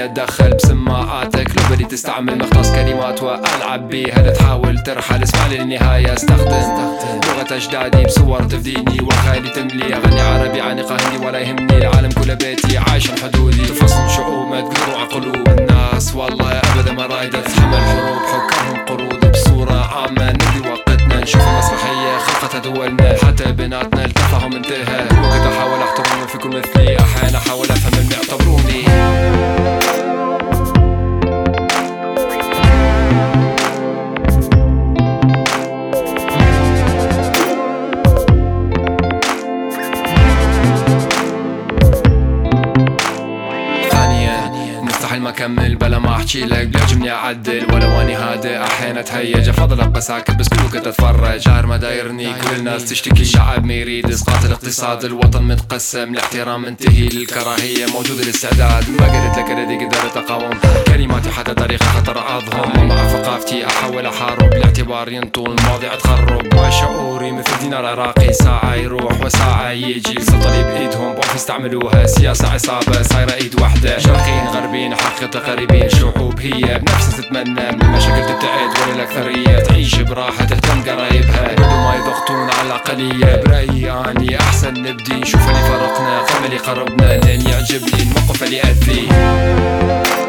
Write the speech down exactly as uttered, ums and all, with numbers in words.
اتدخل بسماعاتك لو بدي تستعمل مختص كلمات والعب بيها تحاول ترحل اسمع للنهاية استخدم لغة اجدادي بصور تفديني وخيالي تملي اغني عربي عانقة هندي ولا يهمني العالم كله بيتي عايش حدودي تفصل شعوب ما تقدروا على قلوب الناس والله ابدا ما رايدة تتحمل حروب حكرهم قرود بصورة عامة نقضي وقتنا نشوف مسرحية خلقتها دولنا حتى بيناتنا التفاهم انتهى وقت احاول احترم فيكم مثلي احيانا احاول افهم اللي يعتبروني مستحيل ما اكمل بلا ما احكي لك بيعجبني اعدل ولو اني هادئ احيانا اتهيج افضل ابقى ساكت بس كله كنت اتفرج شهر ما دايرني كل الناس تشتكي الشعب ما يريد اسقاط الاقتصاد الوطن متقسم الاحترام منتهي للكراهيه موجود الاستعداد ما قلت لك الذي قدرت اقاوم كلماتي حتى طريقه خطر اضهم ومع ثقافتي احاول احارب الاعتبار ينطول المواضيع تخرب وشعوري مثل دينار عراقي ساعه يروح وساعه يجي السلطه بايدهم بعرف يستعملوها سياسه عصابه صايره ايد واحده شرقيين غربيين حقيقة قريبين شعوب هي بنفسها تتمنى من المشاكل تبتعد ولا الأكثرية تعيش براحة تهتم قرايبها بدون ما يضغطون على الأقلية برأيي أني أحسن نبدي نشوف اللي فرقنا قبل اللي قربنا لأن يعجبني الموقف اللي يأذي